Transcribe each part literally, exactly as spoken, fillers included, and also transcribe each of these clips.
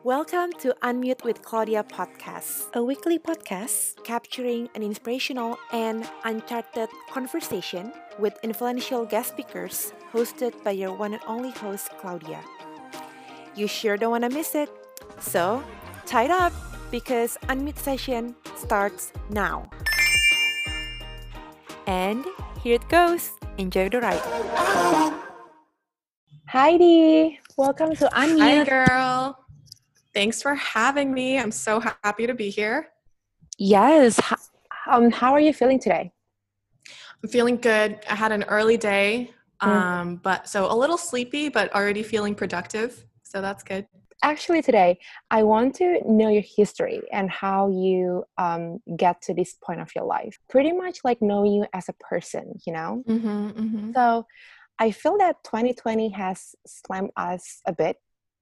Welcome to Unmute with Claudia podcast, a weekly podcast capturing an inspirational and uncharted conversation with influential guest speakers hosted by your one and only host, Claudia. You sure don't want to miss it. So, tie it up because Unmute session starts now. And here it goes. Enjoy the ride. Heidi, welcome to Unmute. Hi, girl. Thanks for having me. I'm so happy to be here. Yes. Um, how are you feeling today? I'm feeling good. I had an early day, um, mm. but so a little sleepy, but already feeling productive. So that's good. Actually, today, I want to know your history and how you um, get to this point of your life. Pretty much like knowing you as a person, you know? Mm-hmm, mm-hmm. So I feel that twenty twenty has slammed us a bit.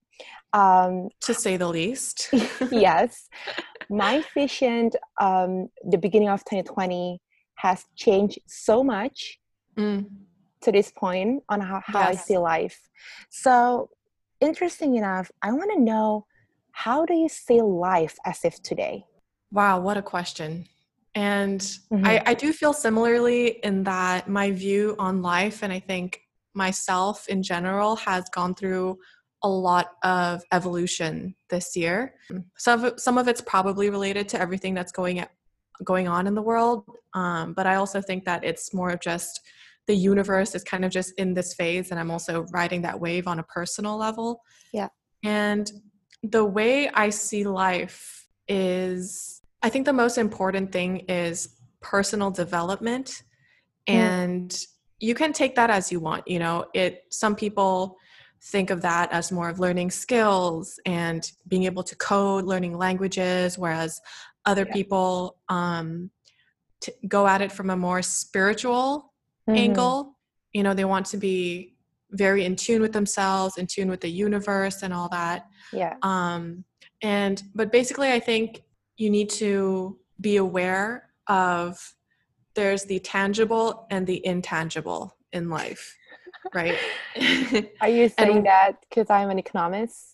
Um, to say the least. Yes. My vision, um, the beginning of twenty twenty has changed so much mm. to this point on how, how yes. I see life. So interesting enough, I want to know, how do you see life as if today? Wow, what a question. And mm-hmm. I, I do feel similarly in that my view on life, and I think myself in general, has gone through a lot of evolution this year. Some of, some of it's probably related to everything that's going at, going on in the world. Um, but I also think that it's more of just the universe is kind of just in this phase, and I'm also riding that wave on a personal level. Yeah. And the way I see life is, I think the most important thing is personal development. Mm. And you can take that as you want. You know, it, some people think of that as more of learning skills and being able to code, learning languages, whereas other yeah. people um, t- go at it from a more spiritual mm-hmm. angle. You know, they want to be very in tune with themselves, in tune with the universe and all that. Yeah. Um, and, but basically I think you need to be aware of there's the tangible and the intangible in life. Right. Are you saying and, that because I'm an economist?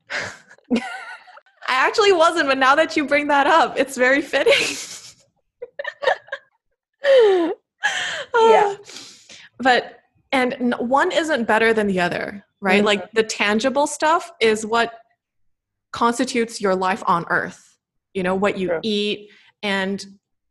I actually wasn't, but now that you bring that up, it's very fitting. Yeah. But, and one isn't better than the other, right? Mm-hmm. Like the tangible stuff is what constitutes your life on earth, you know, what you True. Eat, and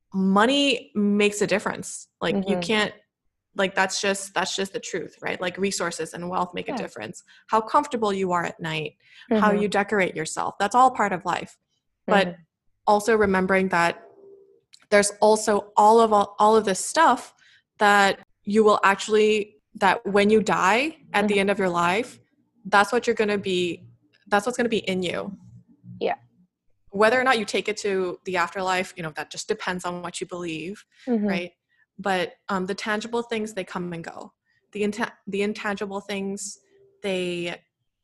money makes a difference. Like mm-hmm. you can't, Like that's just that's just the truth, right? Like resources and wealth make yeah. a difference. How comfortable you are at night, mm-hmm. how you decorate yourself, that's all part of life. Mm-hmm. But also remembering that there's also all of all, all of this stuff that you will actually, that when you die at mm-hmm. the end of your life, that's what you're going to be, that's what's going to be in you. Yeah. Whether or not you take it to the afterlife, you know, that just depends on what you believe, mm-hmm. right? But um, the tangible things, they come and go. The int- the intangible things, they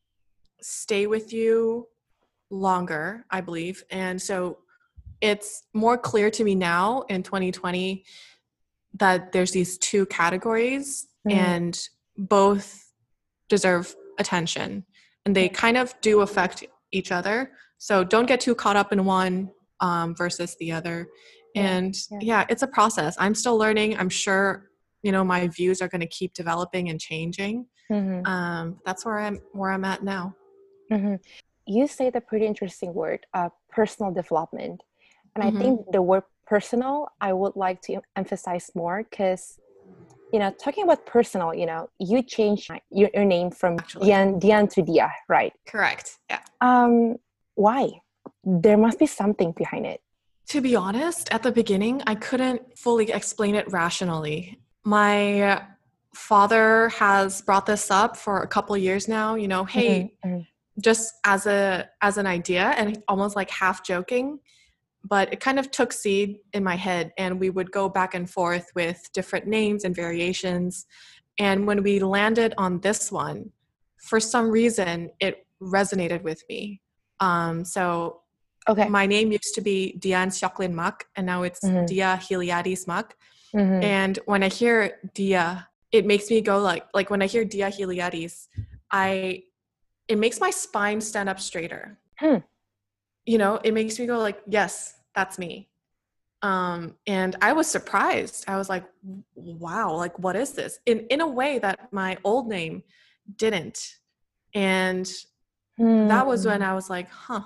stay with you longer, I believe. And so it's more clear to me now in twenty twenty that there's these two categories mm. and both deserve attention. And they kind of do affect each other. So don't get too caught up in one um, versus the other. And yeah. yeah, it's a process. I'm still learning. I'm sure, you know, my views are going to keep developing and changing. Mm-hmm. Um, that's where I'm, where I'm at now. Mm-hmm. You say the pretty interesting word, uh, personal development. And mm-hmm. I think the word personal, I would like to emphasize more because, you know, talking about personal, you know, you changed your, your name from Dian, Dian to Dia, right? Correct. Yeah. Um, why? There must be something behind it. To be honest, at the beginning, I couldn't fully explain it rationally. My father has brought this up for a couple of years now, you know, hey, mm-hmm. just as a as an idea, and almost like half joking, but it kind of took seed in my head, and we would go back and forth with different names and variations. And when we landed on this one, for some reason, it resonated with me. Um, so Okay. My name used to be Dian Sioklin Mak, and now it's mm-hmm. Dia Hiliadis Mak. Mm-hmm. And when I hear Dia, it makes me go like, like when I hear Dia Hiliadis, I, it makes my spine stand up straighter. Hmm. You know, it makes me go like, yes, that's me. Um, and I was surprised. I was like, wow, like, what is this? In, in a way that my old name didn't. And Hmm. that was when I was like, huh,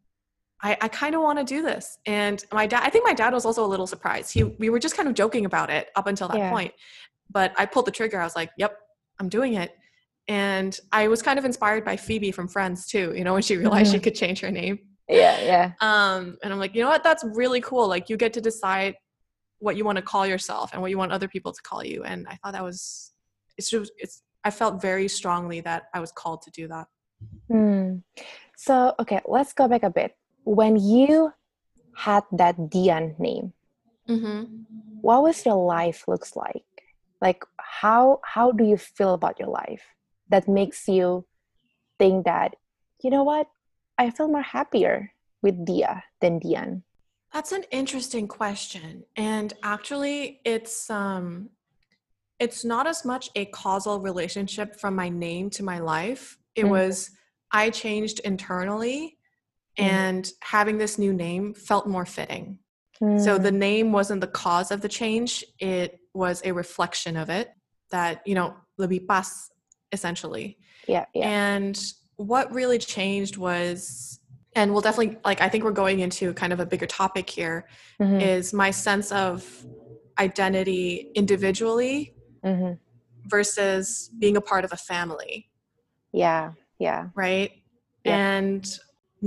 I, I kind of want to do this. And my dad, I think my dad was also a little surprised. He, we were just kind of joking about it up until that Yeah. point. But I pulled the trigger. I was like, yep, I'm doing it. And I was kind of inspired by Phoebe from Friends too, you know, when she realized Mm-hmm. she could change her name. Yeah, yeah. Um, and I'm like, you know what? That's really cool. Like, you get to decide what you want to call yourself and what you want other people to call you. And I thought that was, it's just, it's, I felt very strongly that I was called to do that. Hmm. So, okay, let's go back a bit. When you had that Dian name, Mm-hmm. what was your life looks like? Like, how how do you feel about your life that makes you think that, you know what, I feel more happier with Dia than Dian? That's an interesting question. And actually, it's um it's not as much a causal relationship from my name to my life. It Mm-hmm. was I changed internally, Mm-hmm. and having this new name felt more fitting. So the Mm. name wasn't the cause of the change, it was a reflection of it, that, you know, lebih pas, essentially. Yeah, yeah. And what really changed was, and we'll definitely, like, I think we're going into kind of a bigger topic here, Mm-hmm. is my sense of identity individually Mm-hmm. versus being a part of a family, Yeah, yeah. right? Yep. And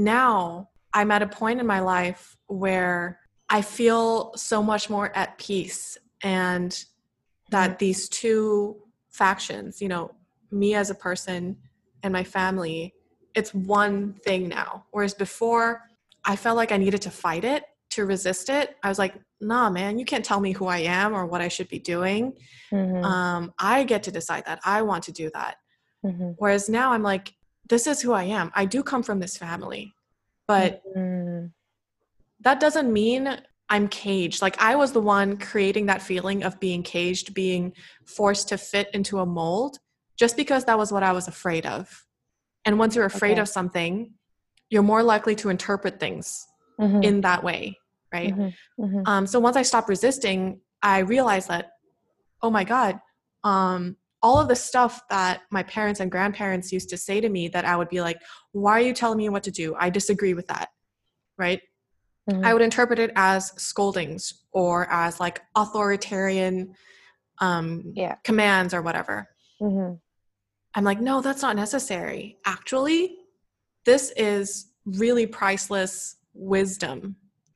now I'm at a point in my life where I feel so much more at peace, and that Mm-hmm. these two factions, you know, me as a person and my family, it's one thing now. Whereas before, I felt like I needed to fight it, to resist it. I was like, nah, man, you can't tell me who I am or what I should be doing. Mm-hmm. Um, I get to decide that. I want to do that. Mm-hmm. Whereas now I'm like, this is who I am. I do come from this family, but Mm-hmm. that doesn't mean I'm caged. Like, I was the one creating that feeling of being caged, being forced to fit into a mold, just because that was what I was afraid of. And once you're afraid Okay. of something, you're more likely to interpret things Mm-hmm. in that way, right? Mm-hmm. Mm-hmm. Um, so once I stopped resisting, I realized that, oh my God, um, all of the stuff that my parents and grandparents used to say to me, that I would be like, why are you telling me what to do? I disagree with that, right? Mm-hmm. I would interpret it as scoldings or as like authoritarian um, Yeah. commands or whatever. Mm-hmm. I'm like, no, that's not necessary. Actually, this is really priceless wisdom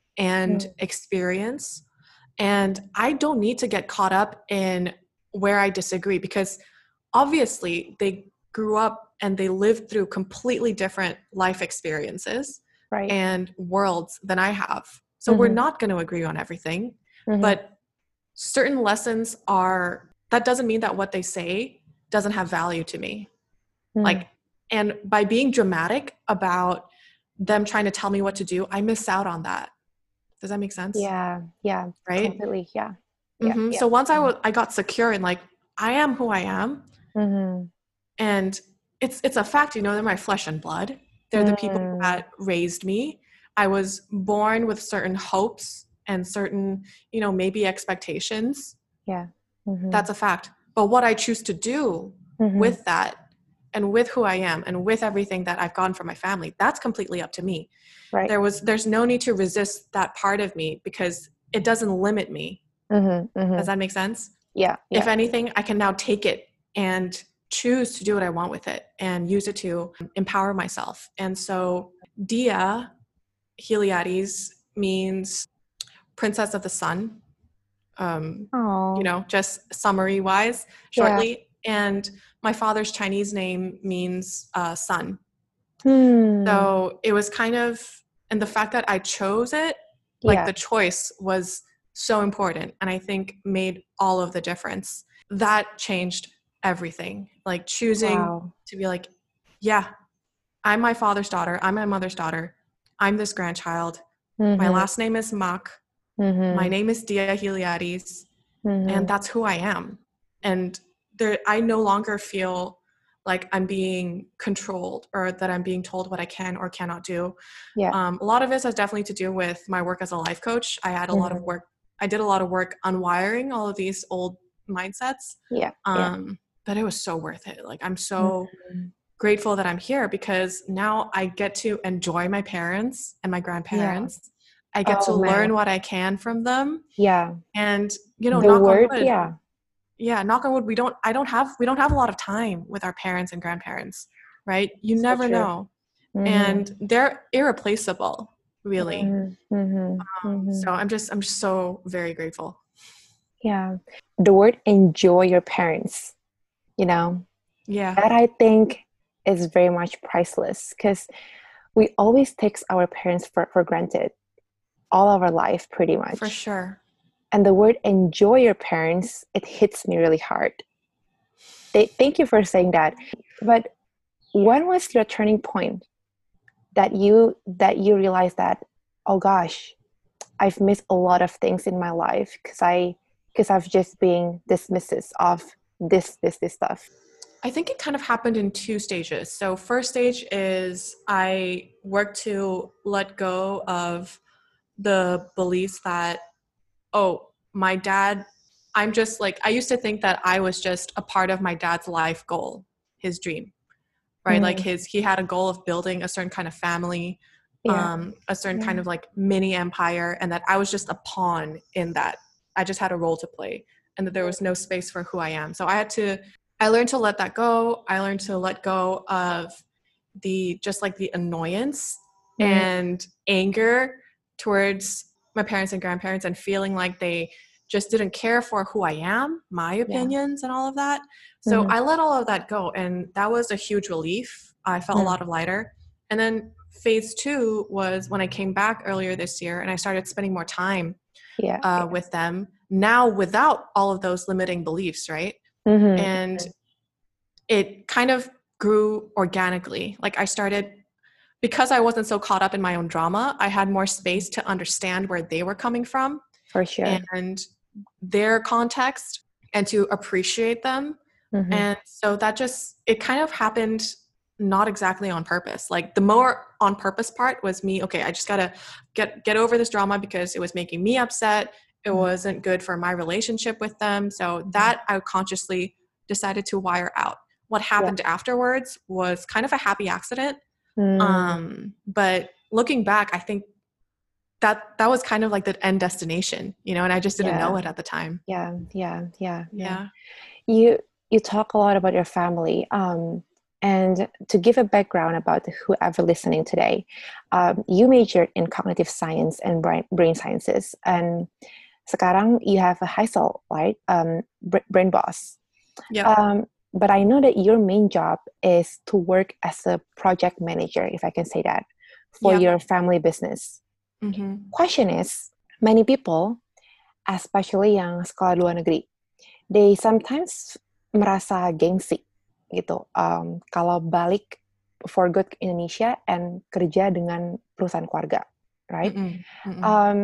and experience. And I don't need to get caught up in where I disagree, because obviously they grew up and they lived through completely different life experiences Right. and worlds than I have. So Mm-hmm. we're not going to agree on everything, Mm-hmm. but certain lessons are, that doesn't mean that what they say doesn't have value to me. Mm. Like, and by being dramatic about them trying to tell me what to do, I miss out on that. Does that make sense? Yeah, yeah, Right? completely. Yeah, yeah, Mm-hmm. yeah. So once I, w- I got secure and like, I am who I am, Mm-hmm. and it's it's a fact, you know, they're my flesh and blood. They're the people Mm. that raised me. I was born with certain hopes and certain, you know, maybe expectations. Yeah. Mm-hmm. That's a fact. But what I choose to do Mm-hmm. with that, and with who I am, and with everything that I've gotten from my family, that's completely up to me. Right. There was there's no need to resist that part of me, because it doesn't limit me. Mm-hmm. Mm-hmm. Does that make sense? Yeah, yeah. If anything, I can now take it and choose to do what I want with it and use it to empower myself. And so Dia Heliades means princess of the sun, um, Oh. you know, just summary wise, shortly. Yeah. And my father's Chinese name means uh, sun. Hmm. So it was kind of, and the fact that I chose it, like Yeah. the choice was so important, and I think made all of the difference. That changed everything. Like choosing Wow. to be like, yeah, I'm my father's daughter. I'm my mother's daughter. I'm this grandchild. Mm-hmm. My last name is Mak. Mm-hmm. My name is Dia Heliades. Mm-hmm. And that's who I am. And there, I no longer feel like I'm being controlled or that I'm being told what I can or cannot do. Yeah. Um, a lot of this has definitely to do with my work as a life coach. I had a mm-hmm. lot of work. I did a lot of work unwiring all of these old mindsets. Yeah. Um, yeah. But it was so worth it. Like I'm so mm-hmm. grateful that I'm here because now I get to enjoy my parents and my grandparents. Yeah. I get oh, to man. learn what I can from them. Yeah. And, you know, the knock word, on wood. Yeah. Yeah. Knock on wood. We don't, I don't have, we don't have a lot of time with our parents and grandparents, right? You so never true. know. Mm-hmm. And they're irreplaceable, really. Mm-hmm. Mm-hmm. Um, so I'm just, I'm just so very grateful. Yeah. The word enjoy your parents, you know, yeah, that I think is very much priceless because we always take our parents for, for granted all of our life, pretty much. For sure. And the word enjoy your parents, it hits me really hard. They, thank you for saying that. But when was your turning point that you that you realized that, oh gosh, I've missed a lot of things in my life because I because I've just been dismissive of this, this, this stuff? I think it kind of happened in two stages. So first stage is I worked to let go of the beliefs that, oh, my dad, I'm just like, I used to think that I was just a part of my dad's life goal, his dream, right? Mm. Like his, he had a goal of building a certain kind of family, yeah. um, a certain yeah. kind of like mini empire, and that I was just a pawn in that. I just had a role to play and that there was no space for who I am. So I had to, I learned to let that go. I learned to let go of the, just like the annoyance mm. and anger towards my parents and grandparents and feeling like they just didn't care for who I am, my opinions yeah. and all of that. So mm-hmm. I let all of that go. And that was a huge relief. I felt mm. a lot of lighter. And then phase two was when I came back earlier this year and I started spending more time yeah, uh, yeah. with them now without all of those limiting beliefs, right? Mm-hmm. And it kind of grew organically. Like I started, because I wasn't so caught up in my own drama, I had more space to understand where they were coming from. For sure. And their context and to appreciate them. Mm-hmm. And so that just, it kind of happened not exactly on purpose. Like the more on purpose part was me, okay, I just gotta get get over this drama because it was making me upset. It mm-hmm. wasn't good for my relationship with them. So mm-hmm. that I consciously decided to wire out. What happened yeah. afterwards was kind of a happy accident. Mm. Um, but looking back, I think that that was kind of like the end destination, you know, and I just didn't yeah. know it at the time. Yeah, yeah, yeah, yeah. yeah. You you talk a lot about your family. Um, and to give a background about whoever listening today, um, you majored in cognitive science and brain, brain sciences. And sekarang you have a Heisel, right? Um, Brain Boss. Yeah. Um, but I know that your main job is to work as a project manager, if I can say that, for yep. your family business. Mm-hmm. Question is, many people, especially yang sekolah luar negeri, they sometimes merasa gengsi gitu. Um, kalau balik for good ke Indonesia and kerja dengan perusahaan keluarga, right? Mm-mm. Mm-mm. Um,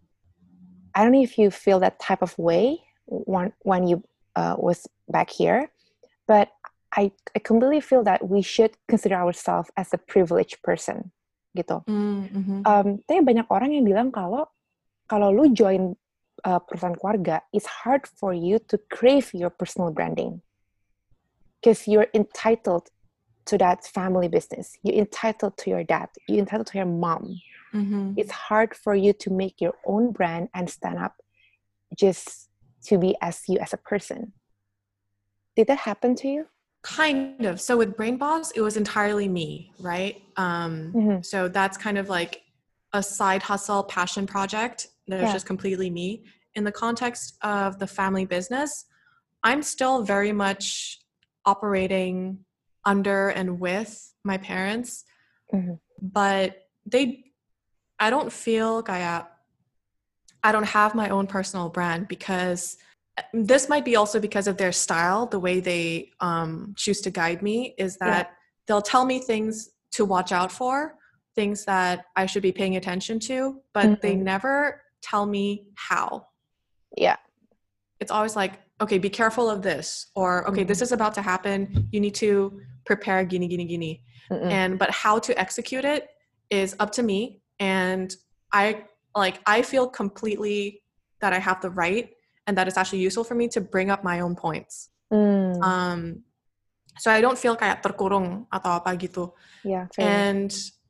I don't know if you feel that type of way when when you uh, was back here, but I I completely feel that we should consider ourselves as a privileged person, gitu. Mm-hmm. Um, tapi banyak orang yang bilang kalau kalau lu join uh, perusahaan keluarga, it's hard for you to crave your personal branding because you're entitled to that family business. You're entitled to your dad. You're entitled to your mom. Mm-hmm. It's hard for you to make your own brand and stand up just to be as you as a person. Did that happen to you? Kind of. So with Brain Boss, it was entirely me, right? Um, mm-hmm. So that's kind of like a side hustle passion project that was yeah. just completely me. In the context of the family business, I'm still very much operating under and with my parents, mm-hmm. but they, I don't feel kaya, I don't have my own personal brand because this might be also because of their style, the way they um, choose to guide me is that yeah. they'll tell me things to watch out for, things that I should be paying attention to, but mm-hmm. they never tell me how. Yeah. It's always like, okay, be careful of this, or okay, mm-hmm. this is about to happen. You need to prepare gini gini gini. Mm-mm. And but how to execute it is up to me. And I like I feel completely that I have the right and that it's actually useful for me to bring up my own points. Mm. Um, so I don't feel kayak terkurung atau apa gitu. Yeah, fair. And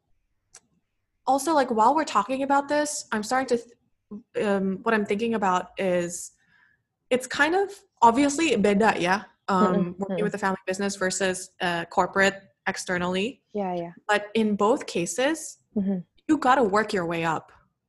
also, like, while we're talking about this, I'm starting to, th- um, what I'm thinking about is, it's kind of obviously beda ya, um, Mm-mm. working Mm-mm. with a family business versus uh, corporate externally. Yeah, yeah. But in both cases, Mm-hmm. you got to work your way up.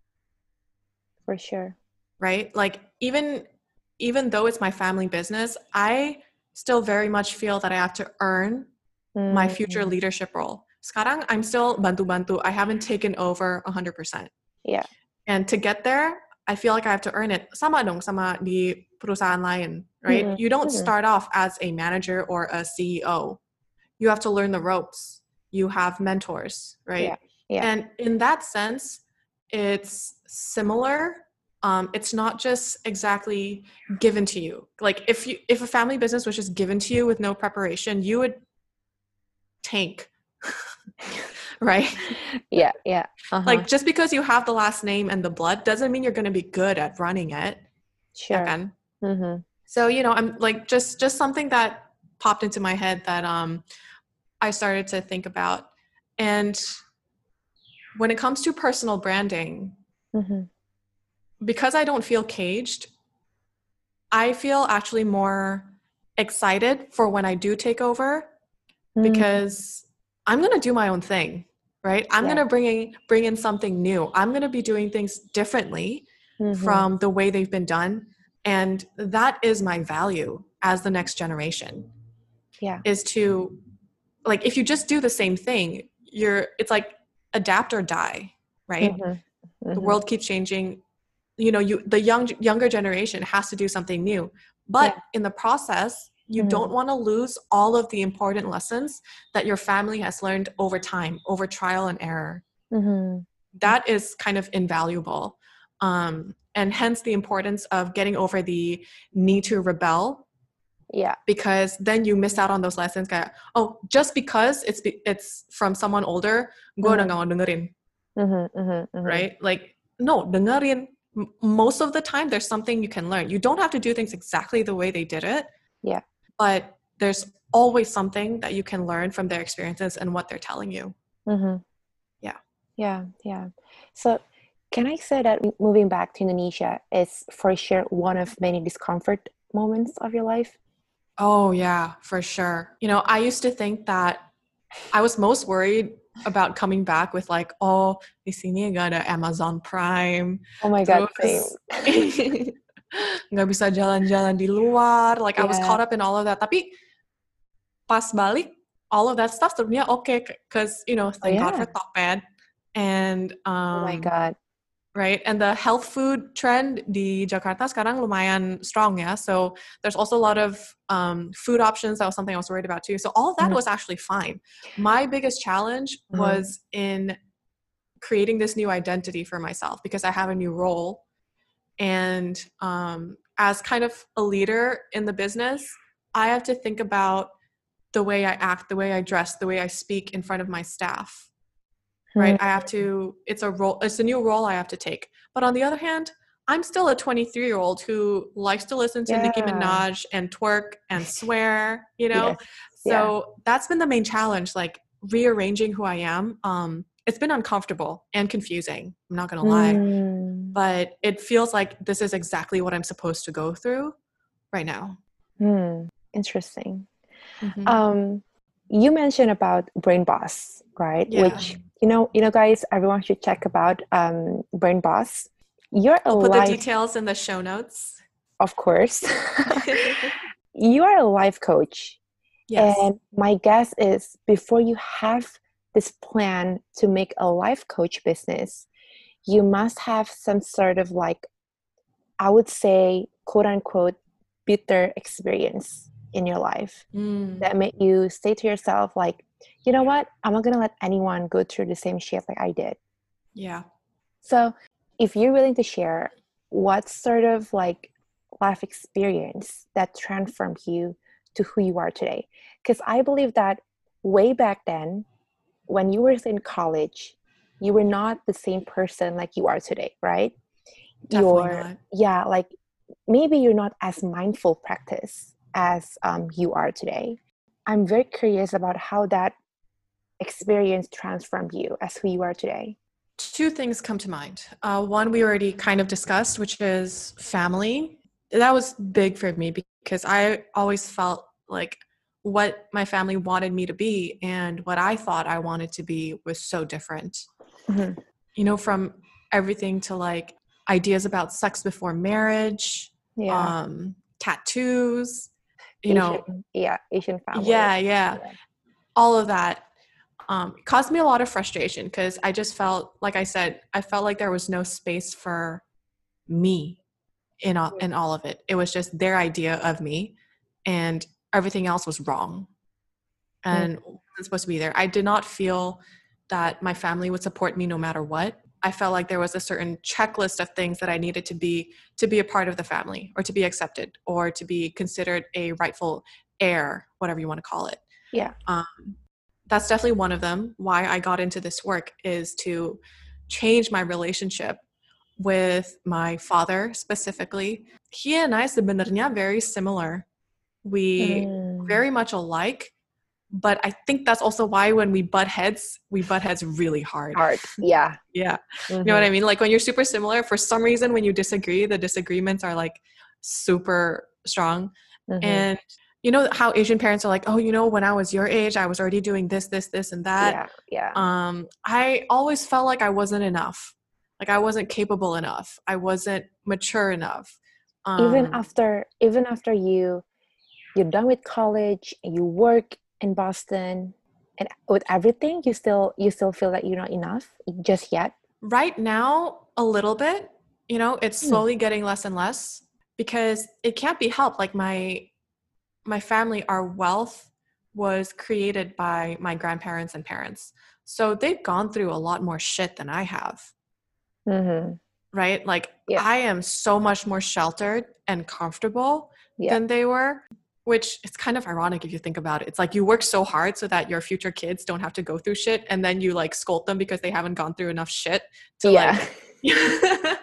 For sure. Right? Like, even even though it's my family business, I still very much feel that I have to earn Mm. my future leadership role. Sekarang, I'm still bantu-bantu. I haven't taken over one hundred percent. Yeah. And to get there, I feel like I have to earn it. Sama dong sama di perusahaan lain, right? Mm-mm. You don't Mm-mm. start off as a manager or a C E O. You have to learn the ropes. You have mentors, right? Yeah. Yeah. And in that sense, it's similar. Um, it's not just exactly given to you. Like if you if a family business was just given to you with no preparation, you would tank. Right? Yeah, yeah. Uh-huh. Like just because you have the last name and the blood doesn't mean you're going to be good at running it. Sure. Ya kan? Mm-hmm. So, you know, I'm like just just something that popped into my head that um I started to think about. And when it comes to personal branding, Mm-hmm. because I don't feel caged, I feel actually more excited for when I do take over because I'm going to do my own thing, right? I'm Yeah. going to bring in, bring in something new. I'm going to be doing things differently Mm-hmm. from the way they've been done. And that is my value as the next generation. Yeah. Is to, like, if you just do the same thing, you're, it's like adapt or die, right? Mm-hmm. Mm-hmm. The world keeps changing. You know, you the young younger generation has to do something new. But Yeah. in the process, you Mm-hmm. don't want to lose all of the important lessons that your family has learned over time, over trial and error. Mm-hmm. That is kind of invaluable. Um, and hence the importance of getting over the need to rebel. Yeah. Because then you miss out on those lessons. Kayak, oh, just because it's it's from someone older, gue udah gak mau dengerin. Mm-hmm. Mm-hmm. Right? Like, no, dengerin. M- most of the time, there's something you can learn. You don't have to do things exactly the way they did it. Yeah. But there's always something that you can learn from their experiences and what they're telling you. Mm-hmm. Yeah. Yeah. Yeah. So can I say that moving back to Indonesia is for sure one of many discomfort moments of your life? Oh, yeah, for sure. You know, I used to think that I was most worried about coming back with like, oh, di sini gak ada Amazon Prime. Oh my God, same. Terus nggak bisa jalan-jalan di luar. Like, I was Yeah. caught up in all of that. Tapi pas balik, all of that stuff sebenarnya okay, because, you know, thank Oh, God yeah. for Tokped. And, um, Oh my God. right? And the health food trend di Jakarta sekarang lumayan strong, yeah? So there's also a lot of um, food options. That was something I was worried about too. So all of that Mhm. was actually fine. My biggest challenge Mhm. was in creating this new identity for myself because I have a new role. And um, as kind of a leader in the business, I have to think about the way I act, the way I dress, the way I speak in front of my staff. Right? I have to, it's a role, it's a new role I have to take. But on the other hand, I'm still a twenty-three year old who likes to listen to Yeah. Nicki Minaj and twerk and swear, you know? Yes. So Yeah. that's been the main challenge, like rearranging who I am. Um, it's been uncomfortable and confusing. I'm not going to lie, Mm. but it feels like this is exactly what I'm supposed to go through right now. Hmm. Interesting. Mm-hmm. Um, you mentioned about Brain Boss, right? Yeah. Which, you know, you know, guys, everyone should check about um, Brain Boss. You're a I'll put life, the details in the show notes. of course. You are a life coach. Yes. And my guess is before you have this plan to make a life coach business, you must have some sort of like, I would say, quote unquote, bitter experience in your life Mm. that made you say to yourself, like, you know what? I'm not going to let anyone go through the same shit like I did. Yeah. So if you're willing to share what sort of like life experience that transformed you to who you are today, because I believe that way back then, when you were in college, you were not the same person like you are today, right? Definitely You're, not. yeah, like maybe you're not as mindful practice as um, you are today. I'm very curious about how that experience transformed you as who you are today. Two things come to mind. Uh, one we already kind of discussed, which is family. That was big for me because I always felt like what my family wanted me to be and what I thought I wanted to be was so different. Mm-hmm. You know, from everything to like ideas about sex before marriage, yeah. um, tattoos, you Asian, know. Yeah, Asian family. Yeah, yeah, yeah. All of that. Um, it caused me a lot of frustration because I just felt, like I said, I felt like there was no space for me in all, in all of it. It was just their idea of me and everything else was wrong and wasn't supposed to be there. I did not feel that my family would support me no matter what. I felt like there was a certain checklist of things that I needed to be to be a part of the family or to be accepted or to be considered a rightful heir, whatever you want to call it. Yeah. Um, that's definitely one of them. Why I got into this work is to change my relationship with my father specifically. He and I sebenarnya very similar. We mm. very much alike, but I think that's also why when we butt heads, we butt heads really hard. Hard, yeah. Yeah. Mm-hmm. You know what I mean? Like when you're super similar, for some reason when you disagree, the disagreements are like super strong. Mm-hmm. And you know how Asian parents are like, oh, you know, when I was your age, I was already doing this, this, this, and that. Yeah, yeah. Um, I always felt like I wasn't enough. Like I wasn't capable enough. I wasn't mature enough. Um, even after, even after you, you're done with college and you work in Boston and with everything, you still, you still feel that you're not enough just yet? Right now, a little bit. You know, it's slowly hmm. getting less and less because it can't be helped. Like my. My family, our wealth was created by my grandparents and parents. So they've gone through a lot more shit than I have. Mm-hmm. Right? Like yeah. I am so much more sheltered and comfortable yeah. than they were, which it's kind of ironic if you think about it. It's like you work so hard so that your future kids don't have to go through shit. And then you like scold them because they haven't gone through enough shit to yeah. like...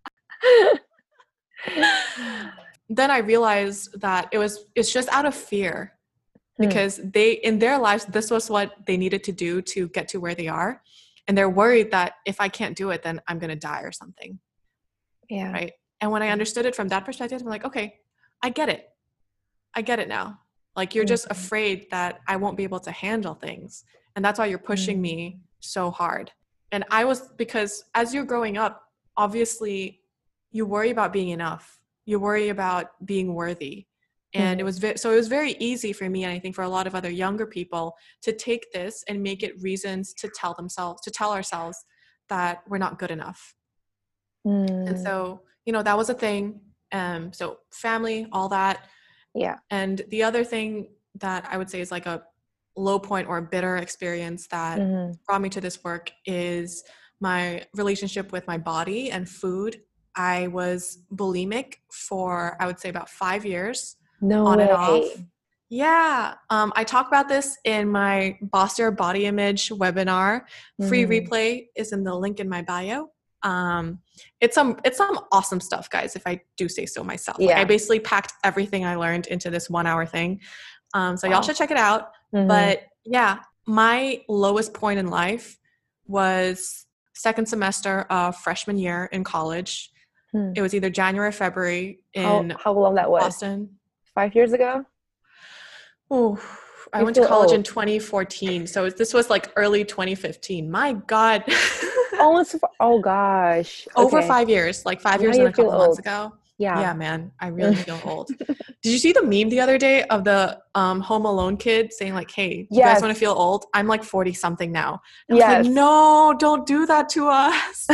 Then I realized that it was it's just out of fear because hmm. they in their lives this was what they needed to do to get to where they are, and they're worried that if I can't do it then I'm gonna die or something. Yeah. Right. And when I understood it from that perspective, I'm like, okay, I get it. I get it now. Like you're mm-hmm. just afraid that I won't be able to handle things, and that's why you're pushing mm-hmm. me so hard. And I was because as you're growing up, obviously you worry about being enough. You worry about being worthy. And mm-hmm. it was vi- so it was very easy for me, and I think for a lot of other younger people, to take this and make it reasons to tell themselves, to tell ourselves that we're not good enough. Mm. And so, you know, that was a thing. Um, so family, all that. Yeah. And the other thing that I would say is like a low point or a bitter experience that mm-hmm. brought me to this work is my relationship with my body and food. I was bulimic for, I would say, about five years. No on way. and off. Yeah. Um, I talk about this in my Boss Your Body Image webinar. Mm. Free replay is in the link in my bio. Um, it's some it's some awesome stuff, guys, if I do say so myself. Yeah. Like I basically packed everything I learned into this one hour thing. Um, so wow. y'all should check it out. Mm-hmm. But yeah, my lowest point in life was second semester of freshman year in college. Hmm. It was either January or February in how, how long that was? Boston. Five years ago? Oh, I you went to college old. in twenty fourteen. So this was like early twenty fifteen. My God. Almost, oh gosh. Okay. Over five years, like five now years and a couple old. months ago. Yeah. Yeah, man. I really feel old. Did you see the meme the other day of the um, Home Alone kid saying like, hey, yes. you guys want to feel old? I'm like forty something now. I yes. was like, no, don't do that to us.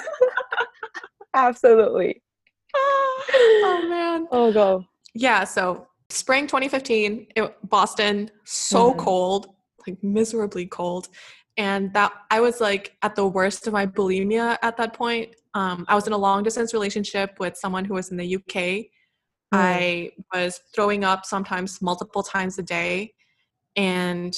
Absolutely. Oh, man. Oh, go. Yeah, so spring twenty fifteen, it, Boston, so mm-hmm. cold, like miserably cold. And that I was like at the worst of my bulimia at that point. Um, I was in a long distance relationship with someone who was in the U K. Mm. I was throwing up sometimes multiple times a day. And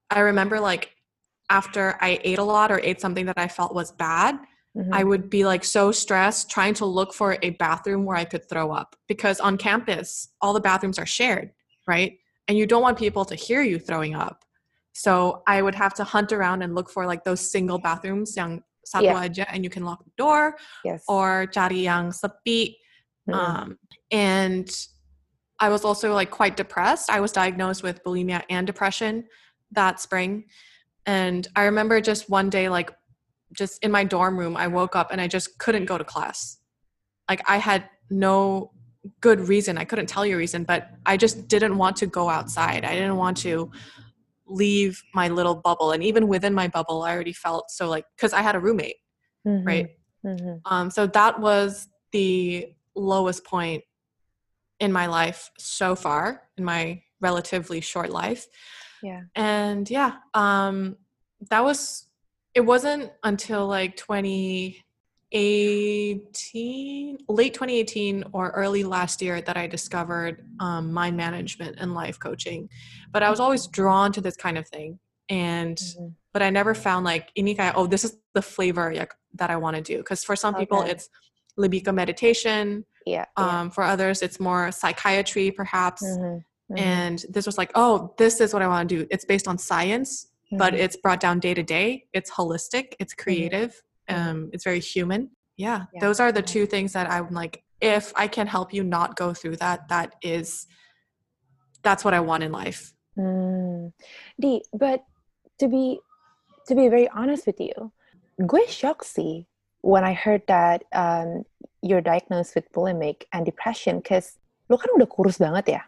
I remember like after I ate a lot or ate something that I felt was bad, mm-hmm. I would be like so stressed trying to look for a bathroom where I could throw up, because on campus, all the bathrooms are shared, right? And you don't want people to hear you throwing up. So I would have to hunt around and look for like those single bathrooms yang satu yeah. aja and you can lock the door, yes. or cari yang sepi. Mm-hmm. Um, and I was also like quite depressed. I was diagnosed with bulimia and depression that spring. And I remember just one day, like just in my dorm room, I woke up and I just couldn't go to class. Like I had no good reason. I couldn't tell you a reason, but I just didn't want to go outside. I didn't want to leave my little bubble. And even within my bubble, I already felt so like, because I had a roommate, mm-hmm. right? Mm-hmm. Um, so that was the lowest point in my life so far, in my relatively short life. Yeah. And yeah, um, that was, it wasn't until like twenty eighteen, late twenty eighteen or early last year that I discovered um, mind management and life coaching. But I was always drawn to this kind of thing. And, mm-hmm. but I never found like, ini kayak, oh, this is the flavor that I want to do. Because for some okay. people, it's lebih ke meditation. Yeah, um, yeah. For others, it's more psychiatry, perhaps. Mm-hmm. Mm-hmm. And this was like, oh, this is what I want to do. It's based on science, mm-hmm. but it's brought down day to day. It's holistic. It's creative. Mm-hmm. Um, it's very human. Yeah, yeah. Those are the two things that I'm like, if I can help you not go through that, that is, that's what I want in life. Mm. Di, but to be, to be very honest with you, gue shocked sih when I heard that um, you're diagnosed with bulimic and depression, because lo kan udah kurus banget ya.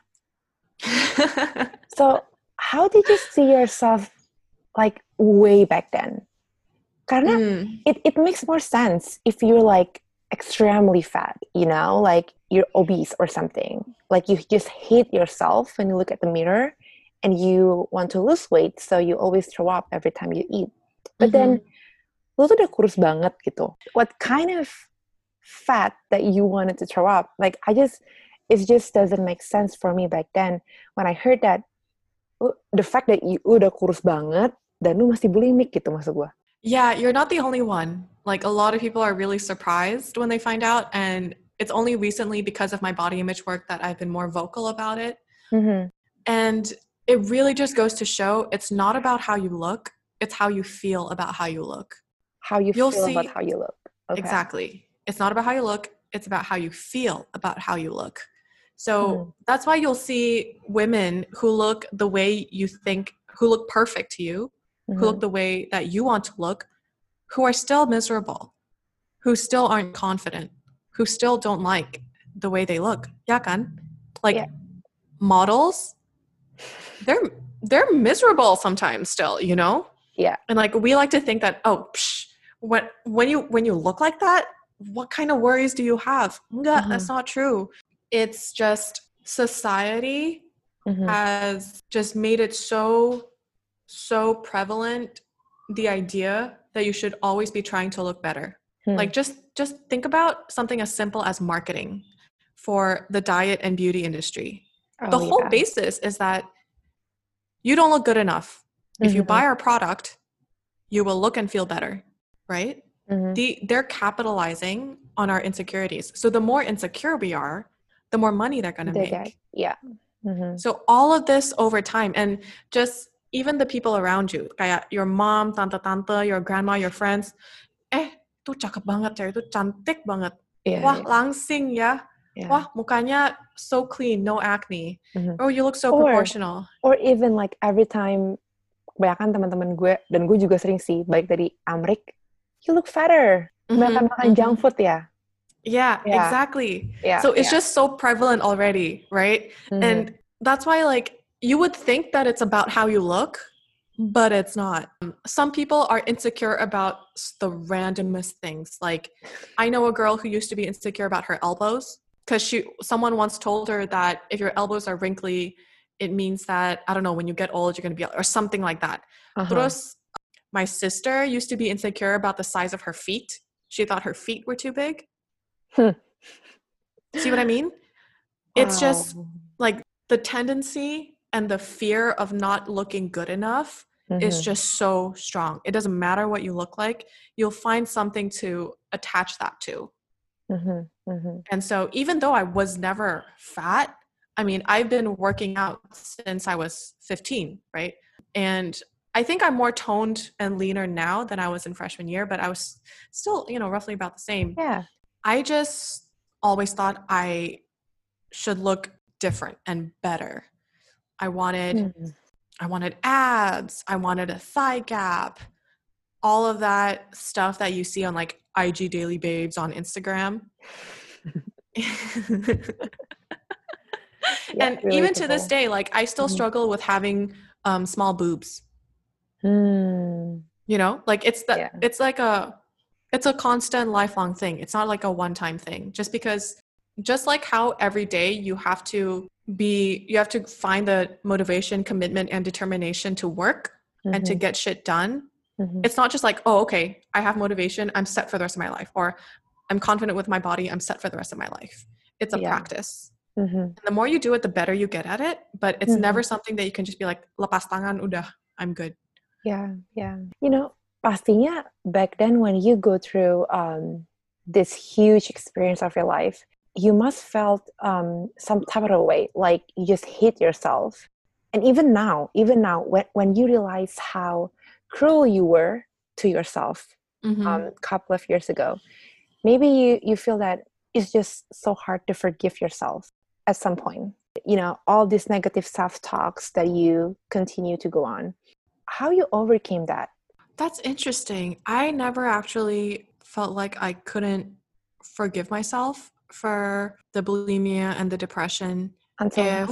So how did you see yourself like way back then? Karena mm. it, it makes more sense if you're like extremely fat, you know, like you're obese or something. Like you just hate yourself when you look at the mirror and you want to lose weight, so you always throw up every time you eat. But mm-hmm. then lo tuh udah kurus banget gitu. What kind of fat that you wanted to throw up? Like I just, it just doesn't make sense for me back then when I heard that, the fact that you udah kurus banget dan lu masih bulimic gitu maksud gue. Yeah, you're not the only one. Like a lot of people are really surprised when they find out, and it's only recently because of my body image work that I've been more vocal about it. Mm-hmm. And it really just goes to show it's not about how you look, it's how you feel about how you look. How you You'll feel see, about how you look. Okay. Exactly. It's not about how you look, it's about how you feel about how you look. So mm. that's why you'll see women who look the way you think, who look perfect to you, mm-hmm. who look the way that you want to look, who are still miserable, who still aren't confident, who still don't like the way they look. Ya kan? Like yeah. models, they're they're miserable sometimes still, you know? Yeah. And like we like to think that, oh, psh, when when you when you look like that, what kind of worries do you have? Enggak, mm-hmm. That's not true. It's just society mm-hmm. has just made it so, so prevalent, the idea that you should always be trying to look better. Hmm. Like just, just think about something as simple as marketing for the diet and beauty industry. Oh, the whole yeah. basis is that you don't look good enough. Mm-hmm. If you buy our product, you will look and feel better, right? Mm-hmm. The, they're capitalizing on our insecurities. So the more insecure we are, the more money they're going to make. Get. Yeah. Mm-hmm. So all of this over time, and just even the people around you, kayak your mom, tante-tante, your grandma, your friends, eh, tuh cakep banget ya, itu cantik banget. Yeah, Wah, yeah. langsing ya. Yeah. Wah, mukanya so clean, no acne. Mm-hmm. Oh, you look so or, proportional. Or even like every time, kebanyakan teman-teman gue, dan gue juga sering sih, baik dari Amrik, you look fatter. Kebanyakan mm-hmm. makan mm-hmm. junk food ya. Yeah, yeah, exactly. Yeah, so it's yeah. just so prevalent already, right? Mm-hmm. And that's why, like, you would think that it's about how you look, but it's not. Some people are insecure about the randomest things. Like, I know a girl who used to be insecure about her elbows because she, someone once told her that if your elbows are wrinkly, it means that, I don't know, when you get old, you're going to be, or something like that. Uh-huh. Terus, my sister used to be insecure about the size of her feet. She thought her feet were too big. Hmm. See what I mean? Wow. It's just like the tendency and the fear of not looking good enough mm-hmm. is just so strong. It doesn't matter what you look like. You'll find something to attach that to. Mm-hmm. Mm-hmm. And so even though I was never fat, I mean, I've been working out since I was fifteen, right? And I think I'm more toned and leaner now than I was in freshman year, but I was still, you know, roughly about the same. Yeah. I just always thought I should look different and better. I wanted, mm-hmm. I wanted abs. I wanted a thigh gap. All of that stuff that you see on like I G Daily Babes on Instagram. Yeah, and even to this day, like I still mm-hmm. struggle with having um, small boobs. Mm. You know, like it's that yeah. it's like a it's a constant lifelong thing. It's not like a one-time thing. Just because, just like how every day you have to be, you have to find the motivation, commitment, and determination to work mm-hmm. and to get shit done. Mm-hmm. It's not just like, oh, okay, I have motivation, I'm set for the rest of my life, or I'm confident with my body, I'm set for the rest of my life. It's a yeah. practice. Mm-hmm. And the more you do it, the better you get at it. But it's mm-hmm. never something that you can just be like, lepas tangan, udah, I'm good. Yeah, yeah. You know, pastinya back then when you go through um, this huge experience of your life, you must felt um, some type of way, like you just hate yourself. And even now, even now, when, when you realize how cruel you were to yourself mm-hmm. um, a couple of years ago, maybe you, you feel that it's just so hard to forgive yourself at some point. You know, all these negative self-talks that you continue to go on. How you overcame that? That's interesting. I never actually felt like I couldn't forgive myself for the bulimia and the depression. Until if, now?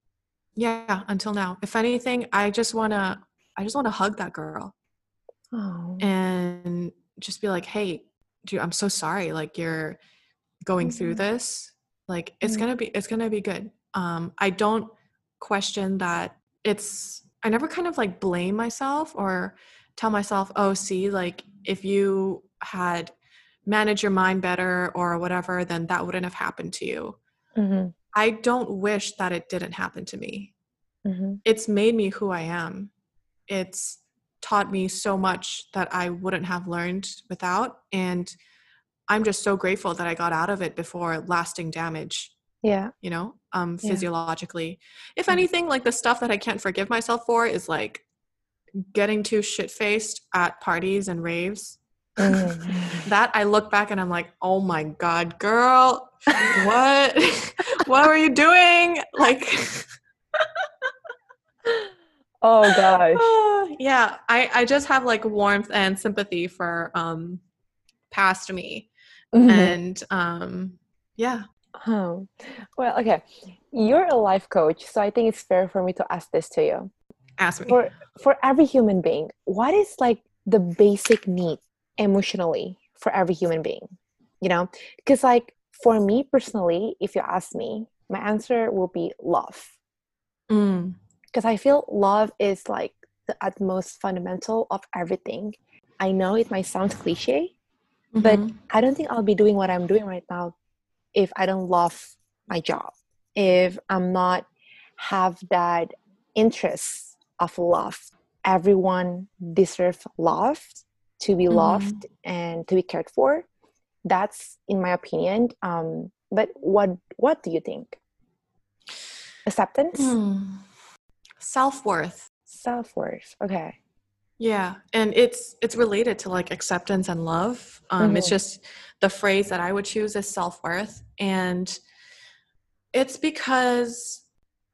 Yeah, until now. If anything, I just want to, I just want to hug that girl. Oh. And just be like, hey, dude, I'm so sorry. Like you're going mm-hmm. through this. Like it's mm-hmm. going to be, it's going to be good. Um, I don't question that it's, I never kind of like blame myself or tell myself, oh, see, like if you had managed your mind better or whatever, then that wouldn't have happened to you. Mm-hmm. I don't wish that it didn't happen to me. Mm-hmm. It's made me who I am. It's taught me so much that I wouldn't have learned without. And I'm just so grateful that I got out of it before lasting damage. Yeah. You know, um, yeah. physiologically. If anything, like the stuff that I can't forgive myself for is like getting too shit-faced at parties and raves. Mm. That I look back and I'm like, oh my God, girl, what? What were you doing? Like, oh gosh. Yeah, I, I just have like warmth and sympathy for um, past me. Mm-hmm. And um, yeah. Oh, well, okay. You're a life coach, so I think it's fair for me to ask this to you. Ask me. For for every human being, what is like the basic need emotionally for every human being? You know, because like for me personally, if you ask me, my answer will be love. Mm. Because I feel love is like the utmost fundamental of everything. I know it might sound cliche, mm-hmm. but I don't think I'll be doing what I'm doing right now if I don't love my job, if I'm not have that interest of love. Everyone deserves love, to be mm-hmm. loved and to be cared for. That's in my opinion. Um, but what what do you think? Acceptance? Mm. Self-worth. Self-worth. Okay. Yeah, and it's it's related to like acceptance and love. Um, mm-hmm. It's just the phrase that I would choose is self-worth, and it's because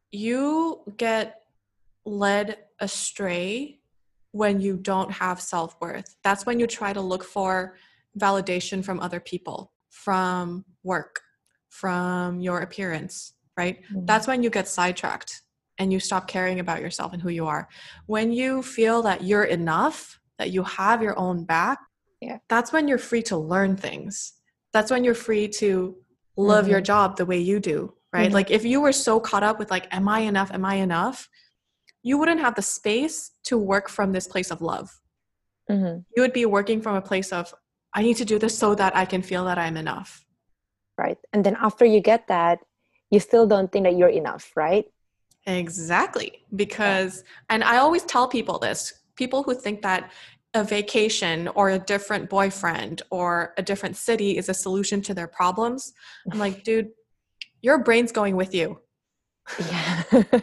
you get led astray when you don't have self-worth. That's when you try to look for validation from other people, from work, from your appearance, right? Mm-hmm. That's when you get sidetracked and you stop caring about yourself and who you are. When you feel that you're enough, that you have your own back, yeah. that's when you're free to learn things. That's when you're free to love mm-hmm. your job the way you do, right? Mm-hmm. Like if you were so caught up with like, am I enough? Am I enough? You wouldn't have the space to work from this place of love. Mm-hmm. You would be working from a place of, I need to do this so that I can feel that I'm enough. Right. And then after you get that, you still don't think that you're enough, right? Exactly. Because, yeah. and I always tell people this, people who think that a vacation or a different boyfriend or a different city is a solution to their problems, I'm like, dude, your brain's going with you. Yeah.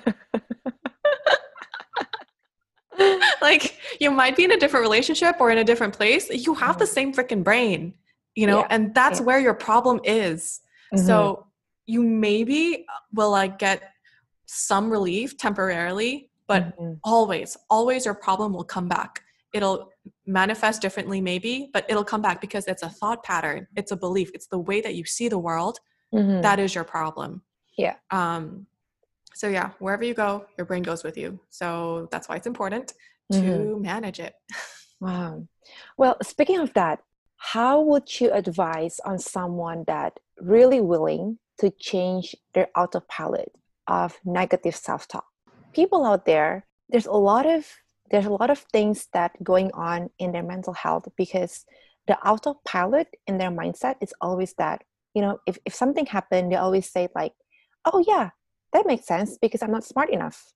Like, you might be in a different relationship or in a different place. You have the same freaking brain, you know, Yeah. and that's Yeah. where your problem is. Mm-hmm. So you maybe will like get some relief temporarily, but mm-hmm. always, always your problem will come back. It'll manifest differently maybe, but it'll come back because it's a thought pattern. It's a belief. It's the way that you see the world. Mm-hmm. That is your problem. Yeah. Um, so yeah, wherever you go, your brain goes with you. So that's why it's important Mm-hmm. to manage it. Wow. Well, speaking of that, how would you advise on someone that really willing to change their autopilot of negative self-talk? People out there, there's a lot of there's a lot of things that going on in their mental health because the autopilot in their mindset is always that, you know, if, if something happened, they always say like, oh yeah, that makes sense because I'm not smart enough.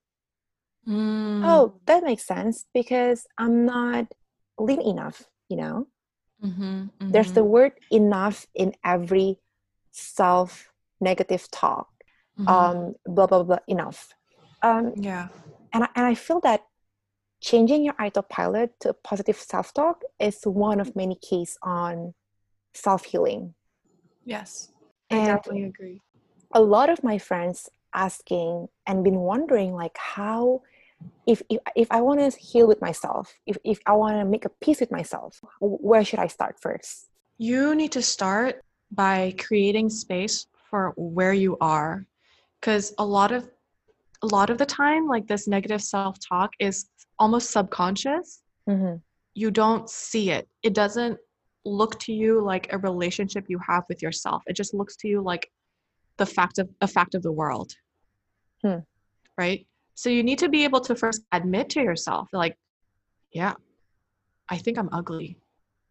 Mm. Oh, that makes sense because I'm not lean enough, you know? Mm-hmm, mm-hmm. There's the word enough in every self-negative talk. Mm-hmm. Um, blah, blah, blah, enough. Um, yeah. And I, and I feel that changing your autopilot to a positive self-talk is one of many cases on self-healing. Yes, and I definitely agree. A lot of my friends asking and been wondering like how, if if, if I want to heal with myself, if, if I want to make a peace with myself, where should I start first? You need to start by creating space for where you are. Because a lot of a lot of the time, like this negative self-talk is almost subconscious. Mm-hmm. You don't see it. It doesn't look to you like a relationship you have with yourself. It just looks to you like the fact of a fact of the world. Hmm. Right? So you need to be able to first admit to yourself, like, yeah, I think I'm ugly.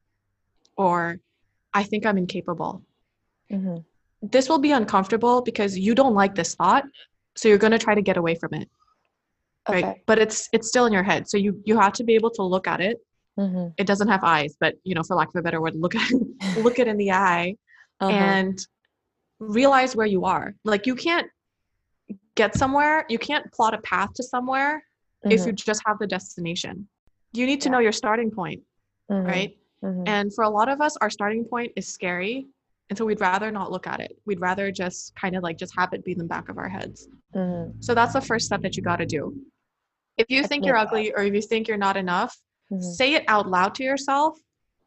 Or I think I'm incapable. Mm-hmm. This will be uncomfortable because you don't like this thought. So you're going to try to get away from it. Okay. Right? But it's it's still in your head. So you you have to be able to look at it. Mm-hmm. It doesn't have eyes, but you know, for lack of a better word, look at look it in the eye uh-huh. and realize where you are. Like you can't get somewhere, you can't plot a path to somewhere mm-hmm. if you just have the destination. You need to yeah. know your starting point, mm-hmm. right? Mm-hmm. And for a lot of us, our starting point is scary. And so we'd rather not look at it. We'd rather just kind of like just have it be in the back of our heads. Mm-hmm. So that's the first step that you got to do. If you think you're ugly or if you think you're not enough, mm-hmm. say it out loud to yourself.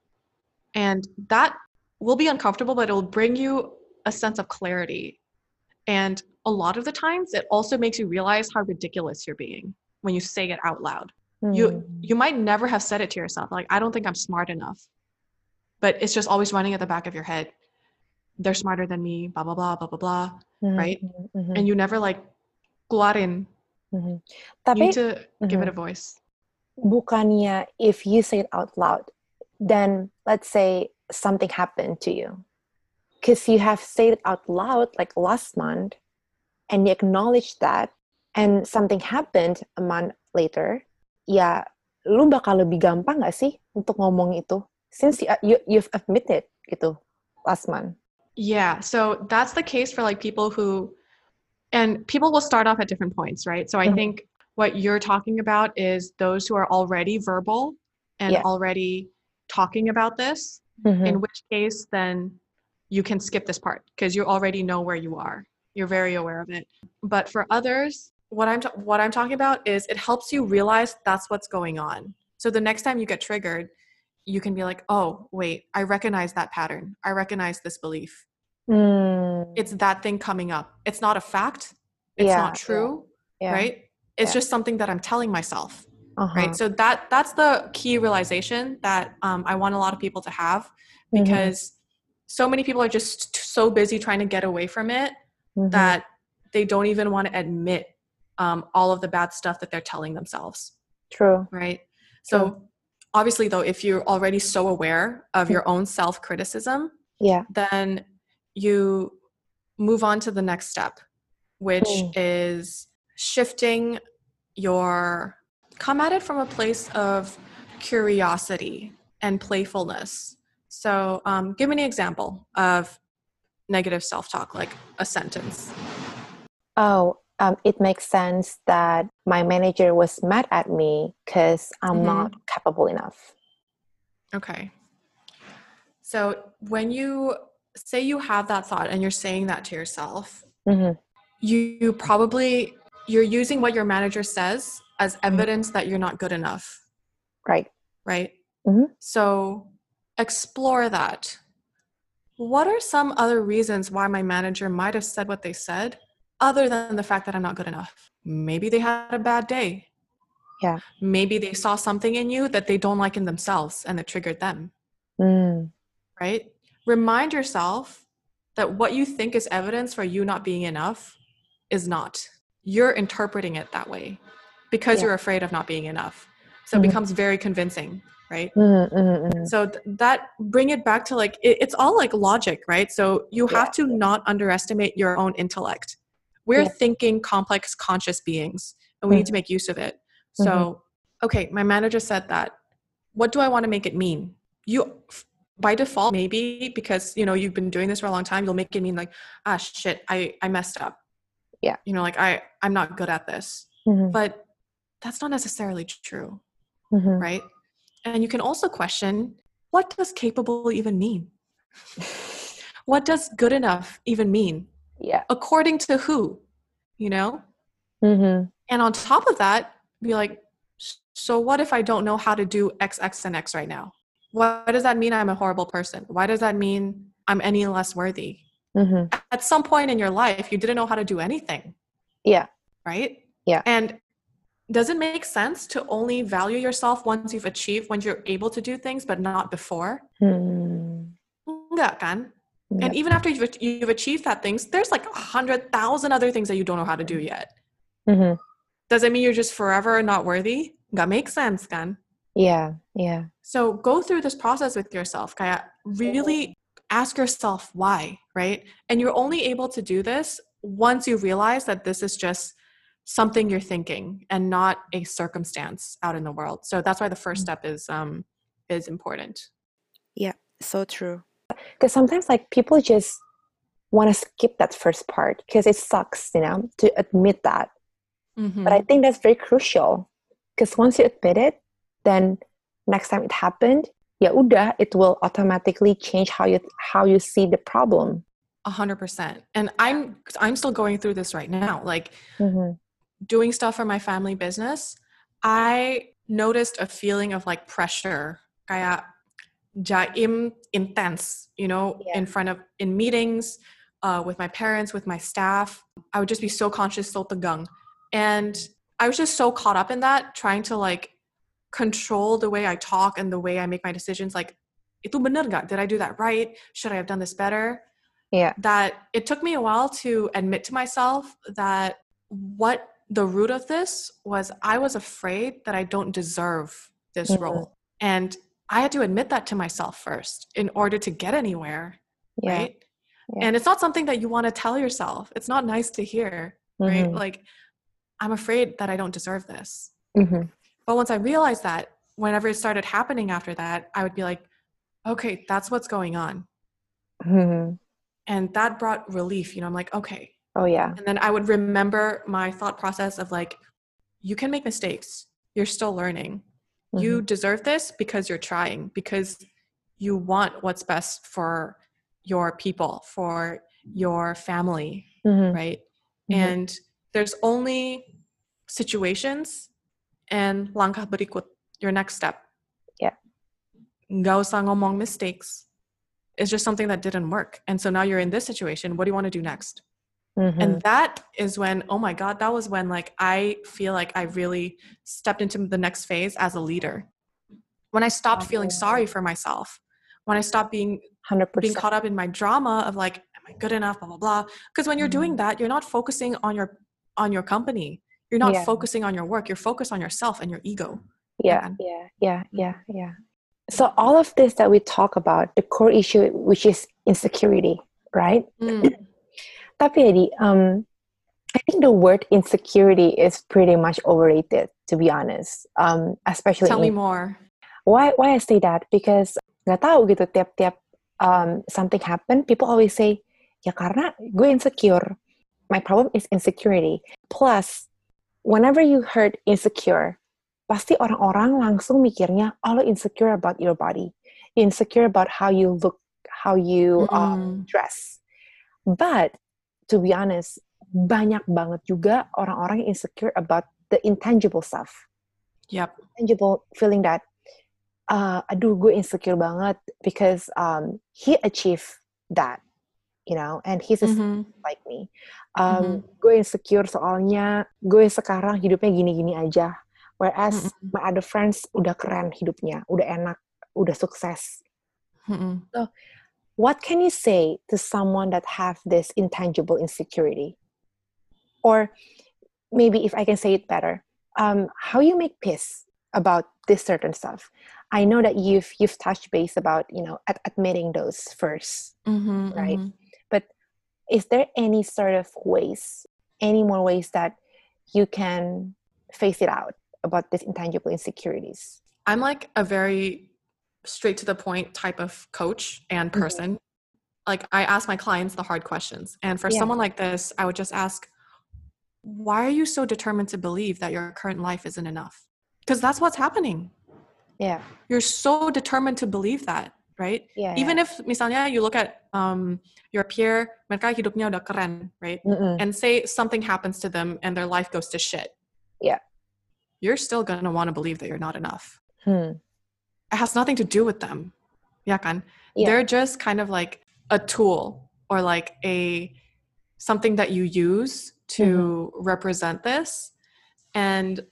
And that will be uncomfortable, but it will bring you a sense of clarity. And a lot of the times, it also makes you realize how ridiculous you're being when you say it out loud. Mm-hmm. You you might never have said it to yourself. Like, I don't think I'm smart enough. But it's just always running at the back of your head. They're smarter than me, blah, blah, blah, blah, blah, blah, mm-hmm. right? Mm-hmm. And you never like keluarin. Mm-hmm. Tapi, you need to mm-hmm. give it a voice. Bukannya if you say it out loud, then let's say something happened to you. Because you have said it out loud like last month and you acknowledge that and something happened a month later, ya lu bakal lebih gampang gak sih untuk ngomong itu? Since you, you, you've admitted gitu last month. Yeah, so that's the case for like people who, and people will start off at different points, right? So I mm-hmm. think what you're talking about is those who are already verbal and yeah. already talking about this, mm-hmm. in which case then you can skip this part because you already know where you are. You're very aware of it. But for others, what I'm ta- what I'm talking about is it helps you realize that's what's going on. So the next time you get triggered, you can be like, oh, wait, I recognize that pattern. I recognize this belief. Mm. It's that thing coming up. It's not a fact. It's yeah, not true, yeah, yeah, right? It's yeah. just something that I'm telling myself, uh-huh. right? So that that's the key realization that um, I want a lot of people to have because mm-hmm. so many people are just so busy trying to get away from it mm-hmm. that they don't even want to admit um, all of the bad stuff that they're telling themselves. True. Right? So True. Obviously, though, if you're already so aware of your own self-criticism, yeah. then you move on to the next step, which mm. is shifting your come at it from a place of curiosity and playfulness. So um, give me an example of negative self-talk, like a sentence. Oh, um, it makes sense that my manager was mad at me because I'm mm-hmm. not capable enough. Okay. So when you say you have that thought and you're saying that to yourself, mm-hmm. you, you probably, you're using what your manager says as evidence mm-hmm. that you're not good enough. Right. Right? Mm-hmm. So explore that. What are some other reasons why my manager might have said what they said other than the fact that I'm not good enough? Maybe they had a bad day. Yeah. Maybe they saw something in you that they don't like in themselves and it triggered them. Mm. Right? Remind yourself that what you think is evidence for you not being enough is not. You're interpreting it that way because yeah. you're afraid of not being enough. So mm-hmm. it becomes very convincing, right? Mm-hmm, mm-hmm. So th- that bring it back to like, it, it's all like logic, right? So you have yeah. to not underestimate your own intellect. We're yeah. thinking complex conscious beings and we mm-hmm. need to make use of it. So, mm-hmm. okay, my manager said that. What do I want to make it mean? You, by default, maybe because, you know, you've been doing this for a long time, you'll make it mean like, ah, shit, I, I messed up. Yeah. You know, like I, I'm not good at this, mm-hmm. but that's not necessarily true. Mm-hmm. Right? And you can also question, what does capable even mean? What does good enough even mean? Yeah. According to who? You know? Mm-hmm. And on top of that, be like, so what if I don't know how to do X, X, and X right now? Why does that mean I'm a horrible person? Why does that mean I'm any less worthy? Mm-hmm. At some point in your life, you didn't know how to do anything. Yeah. Right? Yeah. And does it make sense to only value yourself once you've achieved, once you're able to do things, but not before? Mm. Enggak kan? Yep. And even after you've, you've achieved that things, there's like a hundred thousand other things that you don't know how to do yet. Mm-hmm. Does it mean you're just forever not worthy? Enggak make sense kan? Yeah, yeah. So go through this process with yourself. Kaya really ask yourself why, right? And you're only able to do this once you realize that this is just something you're thinking and not a circumstance out in the world. So that's why the first step is um is important. Yeah, so true. Because sometimes like people just want to skip that first part because it sucks, you know, to admit that. Mm-hmm. But I think that's very crucial because once you admit it, then next time it happened, ya udah, it will automatically change how you how you see the problem. A hundred percent. And I'm I'm still going through this right now. Like mm-hmm. doing stuff for my family business, I noticed a feeling of like pressure, kaya jaim intense, you know, yeah. in front of, in meetings, uh, with my parents, with my staff. I would just be so conscious, so tegang. And I was just so caught up in that, trying to like control the way I talk and the way I make my decisions. Like, itu bener gak? Did I do that right? Should I have done this better? Yeah. That it took me a while to admit to myself that what the root of this was I was afraid that I don't deserve this mm-hmm. role. And I had to admit that to myself first in order to get anywhere, yeah. right? Yeah. And it's not something that you want to tell yourself. It's not nice to hear, mm-hmm. right? Like, I'm afraid that I don't deserve this. Mm-hmm. But once I realized that, whenever it started happening after that, I would be like, okay, that's what's going on. Mm-hmm. And that brought relief. You know, I'm like, okay. Oh, yeah. And then I would remember my thought process of like, you can make mistakes. You're still learning. Mm-hmm. You deserve this because you're trying, because you want what's best for your people, for your family, mm-hmm. right? Mm-hmm. And there's only situations and langkah berikut, your next step. Yeah. Nggak usah ngomong mistakes. It's just something that didn't work. And so now you're in this situation. What do you want to do next? Mm-hmm. And that is when, oh my God, that was when like I feel like I really stepped into the next phase as a leader. When I stopped oh, feeling yeah. sorry for myself. When I stopped being one hundred percent being caught up in my drama of like, am I good enough, blah, blah, blah. Because when you're mm-hmm. doing that, you're not focusing on your on your company. You're not yeah. focusing on your work. You're focused on yourself and your ego. Yeah, yeah, yeah, yeah, yeah. So all of this that we talk about, the core issue, which is insecurity, right? Mm. Tapi Eddie, um, I think the word insecurity is pretty much overrated, to be honest. Um, especially Tell me in, more. Why why I say that? Because nggak tahu gitu tiap-tiap um, something happen, people always say, ya karena gue insecure. My problem is insecurity. Plus, whenever you heard insecure, pasti orang-orang langsung mikirnya, oh lo insecure about your body. Insecure about how you look, how you Mm. um, dress. But, to be honest, banyak banget juga orang-orang yang insecure about the intangible stuff. Yep. Intangible feeling that, uh, aduh gue insecure banget because um, he achieved that, you know, and he's a Mm-hmm. like me. Um, Mm-hmm. Gue insecure soalnya gue sekarang hidupnya gini-gini aja. Whereas Mm-mm. my other friends udah keren hidupnya, udah enak, udah sukses. Mm-mm. So, what can you say to someone that have this intangible insecurity? Or maybe if I can say it better, um, how you make peace about this certain stuff? I know that you've you've touched base about, you know, ad- admitting those first, Mm-hmm. right? Mm-hmm. But is there any sort of ways, any more ways that you can face it out about these intangible insecurities? I'm like a very straight to the point type of coach and person. Mm-hmm. Like I ask my clients the hard questions. And for yeah. someone like this, I would just ask, why are you so determined to believe that your current life isn't enough? Because that's what's happening. Yeah. You're so determined to believe that, right? Yeah. Even yeah. if misalnya you look at um, your peer, mereka hidupnya udah keren, right? Mm-mm. And say something happens to them and their life goes to shit. Yeah. You're still going to want to believe that you're not enough. Hmm. It has nothing to do with them. Ya kan? Yeah. They're just kind of like a tool or like a something that you use to mm-hmm. represent this. And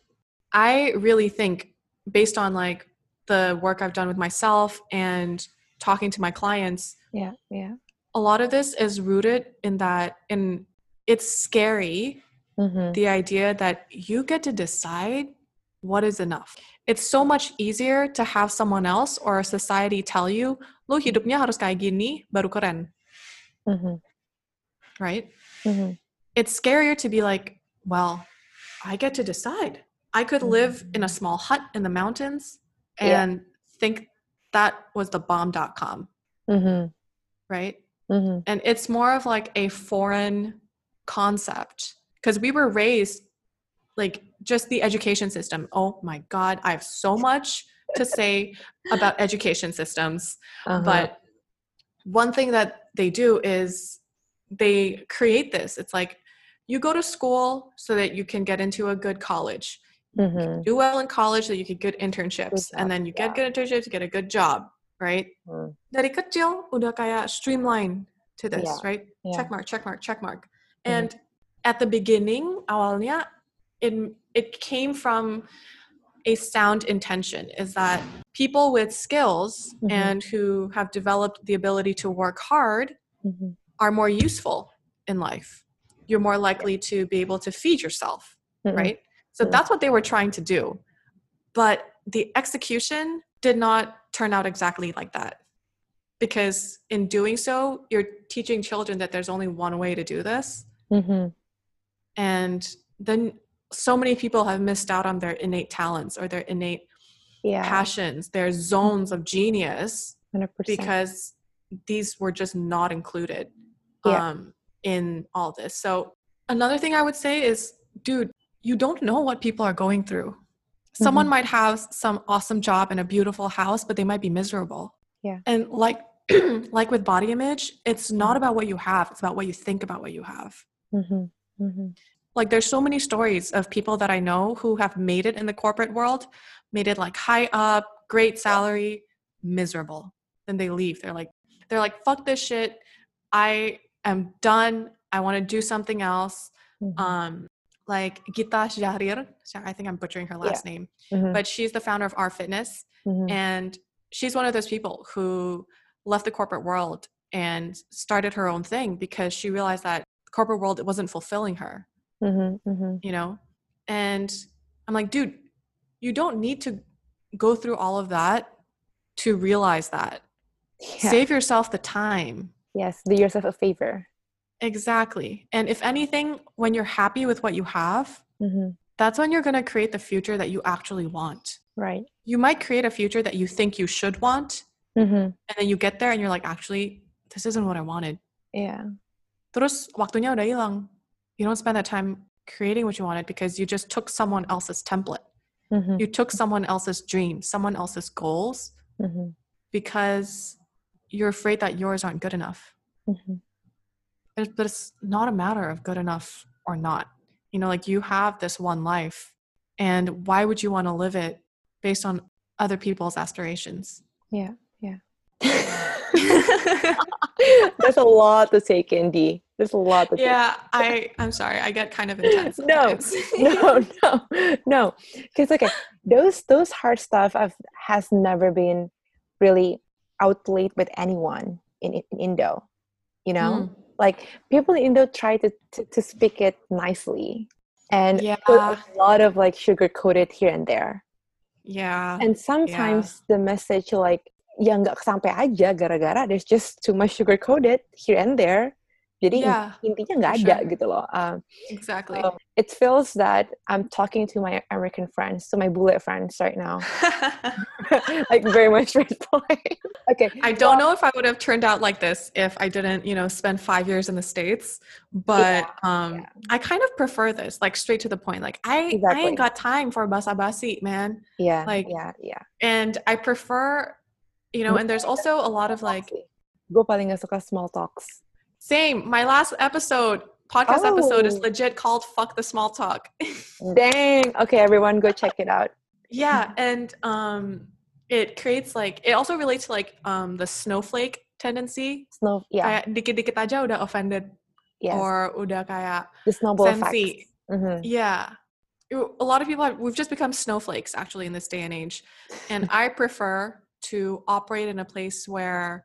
I really think, based on like the work I've done with myself and talking to my clients, yeah, yeah, a lot of this is rooted in that, in it's scary, mm-hmm. the idea that you get to decide what is enough. It's so much easier to have someone else or a society tell you, lo hidupnya harus kayak gini, baru keren. Mm-hmm. Right? Mm-hmm. It's scarier to be like, well, I get to decide. I could live in a small hut in the mountains and yeah. think that was the bomb dot com. Mm-hmm. Right? Mm-hmm. And it's more of like a foreign concept because we were raised like just the education system. Oh my God, I have so much to say about education systems. Uh-huh. But one thing that they do is they create this. It's like you go to school so that you can get into a good college. Mm-hmm. Do well in college so you get good internships. Good and then you get yeah. good internships, you get a good job, right? Mm. Dari kecil udah kayak streamline to this, yeah. right? Yeah. Check mark, check mark, check mark. Mm-hmm. And at the beginning, awalnya, it, it came from a sound intention, is that people with skills mm-hmm. and who have developed the ability to work hard mm-hmm. are more useful in life. You're more likely to be able to feed yourself, mm-hmm. right? So mm-hmm. that's what they were trying to do. But the execution did not turn out exactly like that. Because in doing so, you're teaching children that there's only one way to do this. Mm-hmm. And then so many people have missed out on their innate talents or their innate yeah. passions, their zones of genius, one hundred percent. Because these were just not included yeah. um, in all this. So another thing I would say is, dude, you don't know what people are going through. Someone mm-hmm. might have some awesome job and a beautiful house, but they might be miserable. Yeah. And like, like with body image, it's not about what you have. It's about what you think about what you have. Mm-hmm. Mm-hmm. Like there's so many stories of people that I know who have made it in the corporate world, made it like high up, great salary, miserable. Then they leave. They're like, they're like, fuck this shit. I am done. I want to do something else. Mm-hmm. Um, like Gita Jahrir, I think I'm butchering her last yeah. name, mm-hmm. but she's the founder of R Fitness. Mm-hmm. And she's one of those people who left the corporate world and started her own thing because she realized that the corporate world, it wasn't fulfilling her, mm-hmm. Mm-hmm. you know? And I'm like, dude, you don't need to go through all of that to realize that. Yeah. Save yourself the time. Yes, do yourself a favor. Exactly. And if anything, when you're happy with what you have, mm-hmm. that's when you're going to create the future that you actually want. Right. You might create a future that you think you should want, Mm-hmm. and then you get there and you're like, actually, this isn't what I wanted. Yeah. Terus waktunya udah hilang. You don't spend that time creating what you wanted because you just took someone else's template. Mm-hmm. You took someone else's dreams, someone else's goals, Mm-hmm. because you're afraid that yours aren't good enough. Mm-hmm. But it's not a matter of good enough or not. You know, like you have this one life, and why would you want to live it based on other people's aspirations? Yeah, yeah. There's a lot to take in, Dee. There's a lot to take. Yeah, I, I'm sorry. I get kind of intense. no, no, no, no. Because okay, those those hard stuff I've, has never been really outplayed with anyone in, in Indo. You know, mm. like people in Indo try to, to, to speak it nicely and yeah. put a lot of like sugar coated here and there. Yeah. And sometimes yeah. the message like yang nggak sampai aja gara-gara there's just too much sugar coated here and there. Jadi yeah, intinya nggak ada sure. gitu loh. Um, exactly. So it feels that I'm talking to my American friends, to my bullet friends right now. Like very much straight point. Okay. I don't well, know if I would have turned out like this if I didn't, you know, spend five years in the States. But yeah, um, yeah. I kind of prefer this, like straight to the point. Like I, exactly. I ain't got time for basa-basi, man. Yeah. Like yeah, yeah. And I prefer, you know, and there's also a lot of like. Gue paling gak suka small talks. Same. My last episode, podcast oh. episode is legit called Fuck the Small Talk. Dang. Okay, everyone go check it out. Yeah. And um, it creates like, it also relates to like um, the snowflake tendency. Snow, yeah. Kayak dikit-dikit aja udah offended. Yes. Or udah kayak the snowball sensi. effect. Mm-hmm. Yeah. A lot of people have, we've just become snowflakes actually in this day and age. And I prefer to operate in a place where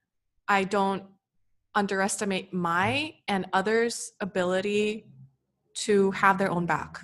I don't underestimate my and others' ability to have their own back.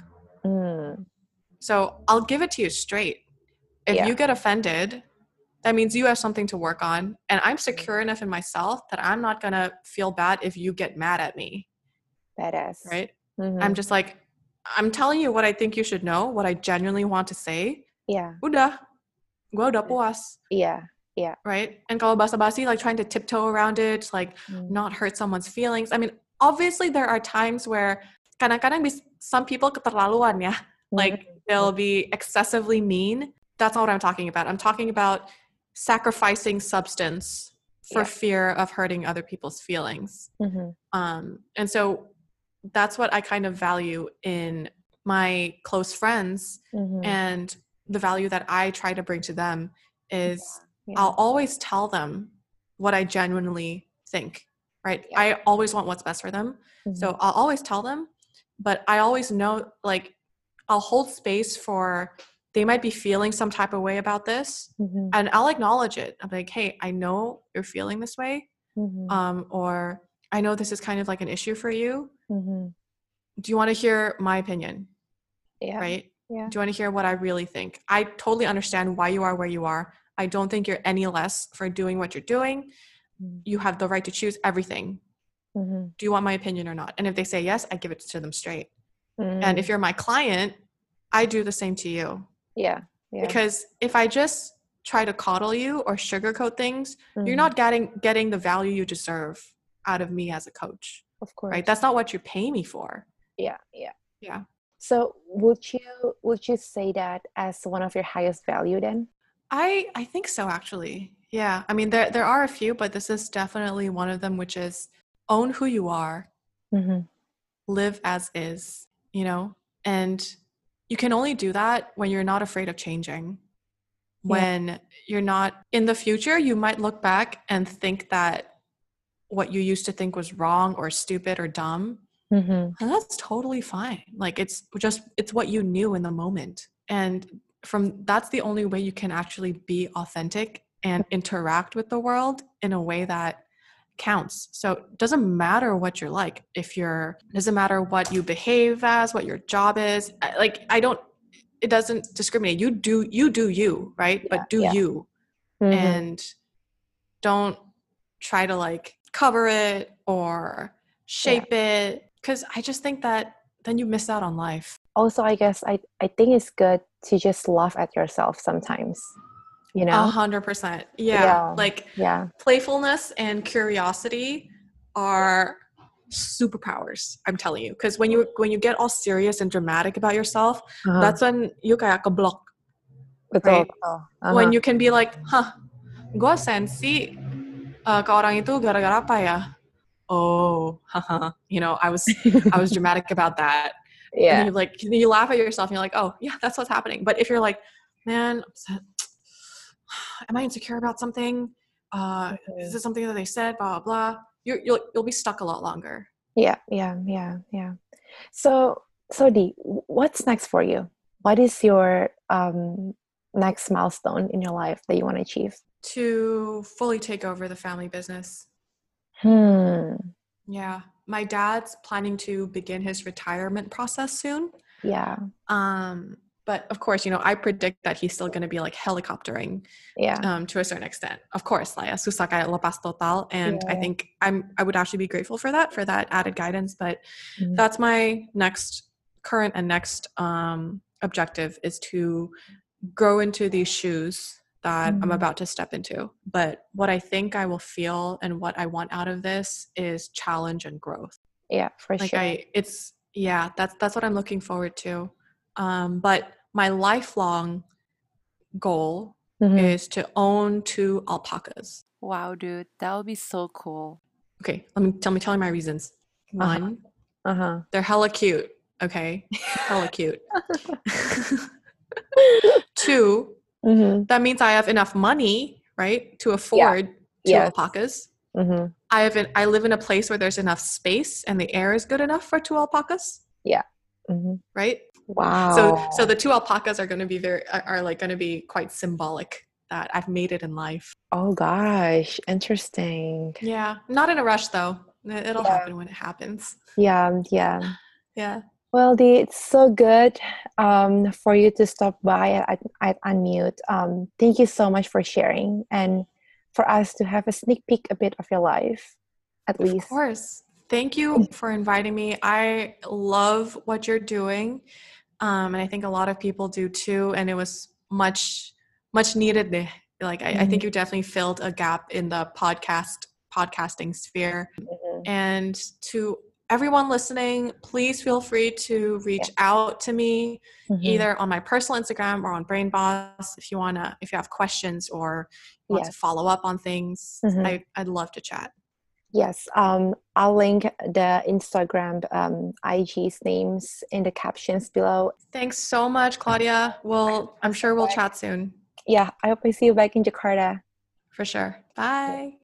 Mm. So I'll give it to you straight. If yeah. you get offended, that means you have something to work on. And I'm secure enough in myself that I'm not going to feel bad if you get mad at me. Badass. Right? Mm-hmm. I'm just like, I'm telling you what I think you should know, what I genuinely want to say. Yeah. Udah. Gua udah puas. Yeah. Yeah. Right? And kalau basa-basi, like trying to tiptoe around it, like mm. not hurt someone's feelings. I mean, obviously there are times where kadang-kadang some people keterlaluan ya. Like they'll be excessively mean. That's not what I'm talking about. I'm talking about sacrificing substance for yeah. fear of hurting other people's feelings. Mm-hmm. Um, and so that's what I kind of value in my close friends. Mm-hmm. And the value that I try to bring to them is yeah. I'll always tell them what I genuinely think, right? Yeah. I always want what's best for them. Mm-hmm. So I'll always tell them, but I always know, like, I'll hold space for, they might be feeling some type of way about this, mm-hmm. and I'll acknowledge it. I'm like, hey, I know you're feeling this way, mm-hmm. um, or I know this is kind of like an issue for you. Mm-hmm. Do you want to hear my opinion? Yeah. Right? Yeah. Do you want to hear what I really think? I totally understand why you are where you are. I don't think you're any less for doing what you're doing. Mm-hmm. You have the right to choose everything. Mm-hmm. Do you want my opinion or not? And if they say yes, I give it to them straight. Mm-hmm. And if you're my client, I do the same to you. Yeah. Yeah. Because if I just try to coddle you or sugarcoat things, mm-hmm. you're not getting getting the value you deserve out of me as a coach. Of course. Right? That's not what you pay me for. Yeah. Yeah. Yeah. So would you would you say that as one of your highest value then? I I think so, actually. Yeah. I mean, there there are a few, but this is definitely one of them, which is own who you are, mm-hmm. live as is, you know, and you can only do that when you're not afraid of changing. When yeah. you're not in the future, you might look back and think that what you used to think was wrong or stupid or dumb. Mm-hmm. And that's totally fine. Like it's just, it's what you knew in the moment. And from, that's the only way you can actually be authentic and interact with the world in a way that counts. So it doesn't matter what you're like. If you're, it doesn't matter what you behave as, what your job is. Like, I don't, it doesn't discriminate. You do, you do you, right? Yeah, but do yeah. you. Mm-hmm. And don't try to like cover it or shape yeah. it. Cause I just think that then you miss out on life. also, I guess I, I think it's good to just laugh at yourself sometimes, you A know? hundred percent. Yeah. Yeah. Like Yeah. playfulness and curiosity are superpowers, I'm telling you. Because when you when you get all serious and dramatic about yourself, Uh-huh. that's when you kayak keblok, Betul, right? betul. When Uh-huh. you can be like, huh, gue sensi uh, ke orang itu gara-gara apa ya? Oh, haha. You know, I was I was dramatic about that. And then Yeah. you like you laugh at yourself and you're like, oh yeah, that's what's happening. But if you're like, man, am I insecure about something? Uh, Mhm. is this something that they said? Blah blah blah. You're, you'll you'll be stuck a lot longer. Yeah, yeah, yeah, yeah. So, so Dee, what's next for you? What is your um next milestone in your life that you want to achieve? To fully take over the family business. Hmm. Yeah, my dad's planning to begin his retirement process soon. Yeah. Um, but of course, you know, I predict that he's still going to be like helicoptering. Yeah. Um, to a certain extent, of course, like susah kayak lepas total, and Yeah. I think I'm I would actually be grateful for that for that added guidance. But Mhm. that's my next current and next um, objective is to grow into these shoes that I'm Mhm. about to step into. But what I think I will feel and what I want out of this is challenge and growth. Yeah, for Like sure. I, it's yeah, that's that's what I'm looking forward to. Um, but my lifelong goal Mhm. is to own two alpacas. Wow, dude, that would be so cool. Okay, let me tell me tell me my reasons. One, Uh-huh. they're hella cute. Okay, hella cute. Two, Mhm. that means I have enough money, right, to afford two Yes. alpacas. Mhm. I have an, I live in a place where there's enough space and the air is good enough for two alpacas, Yeah. Mhm. right? Wow. So so the two alpacas are going to be very are, are like going to be quite symbolic that I've made it in life. Oh gosh, interesting. Yeah, not in a rush though. It- It'll Yeah. happen when it happens. Yeah, yeah. Yeah. Well, Dee, it's so good um, for you to stop by at, at Unmute. Um, thank you so much for sharing and for us to have a sneak peek a bit of your life, at Of least. course. Thank you for inviting me. I love what you're doing. Um, and I think a lot of people do too. And it was much, much needed. Deh. Like, I, I think you definitely filled a gap in the podcast, podcasting sphere. Mhm. And to everyone listening, please feel free to reach Yeah. out to me Mhm. either on my personal Instagram or on Brain Boss if you want to, if you have questions or you want Yes. to follow up on things. Mhm. I, I'd love to chat. Yes, um, I'll link the Instagram um, I G's names in the captions below. Thanks so much, Claudia. Well, I'm sure we'll chat soon. Yeah, I hope I see you back in Jakarta. For sure. Bye.